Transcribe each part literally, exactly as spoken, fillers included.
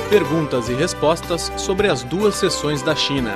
Perguntas e respostas sobre as duas sessões da China.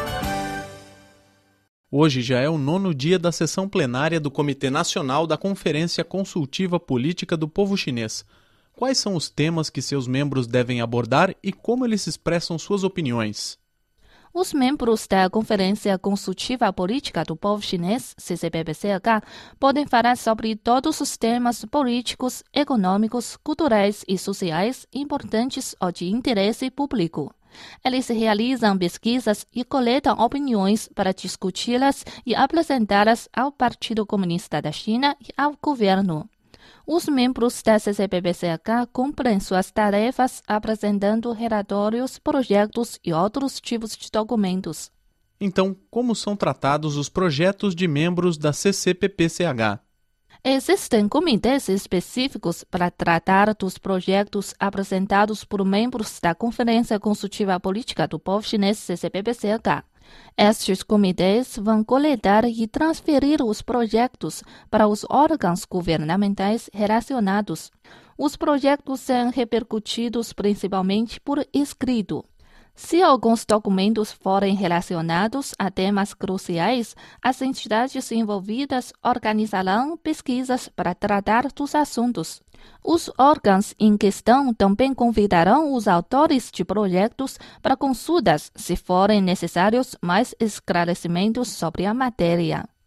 Hoje já é o nono dia da sessão plenária do Comitê Nacional da Conferência Consultiva Política do Povo Chinês. Quais são os temas que seus membros devem abordar e como eles expressam suas opiniões? Os membros da Conferência Consultiva Política do Povo Chinês, C C P P C H, podem falar sobre todos os temas políticos, econômicos, culturais e sociais importantes ou de interesse público. Eles realizam pesquisas e coletam opiniões para discuti-las e apresentá-las ao Partido Comunista da China e ao governo. Os membros da C C P P C H cumprem suas tarefas apresentando relatórios, projetos e outros tipos de documentos. Então, como são tratados os projetos de membros da C C P P C H? Existem comitês específicos para tratar dos projetos apresentados por membros da Conferência Consultiva Política do Povo Chinês, C C P P C H. Estes comitês vão coletar e transferir os projetos para os órgãos governamentais relacionados. Os projetos são repercutidos principalmente por escrito. Se alguns documentos forem relacionados a temas cruciais, as entidades envolvidas organizarão pesquisas para tratar dos assuntos. Os órgãos em questão também convidarão os autores de projetos para consultas, se forem necessários mais esclarecimentos sobre a matéria.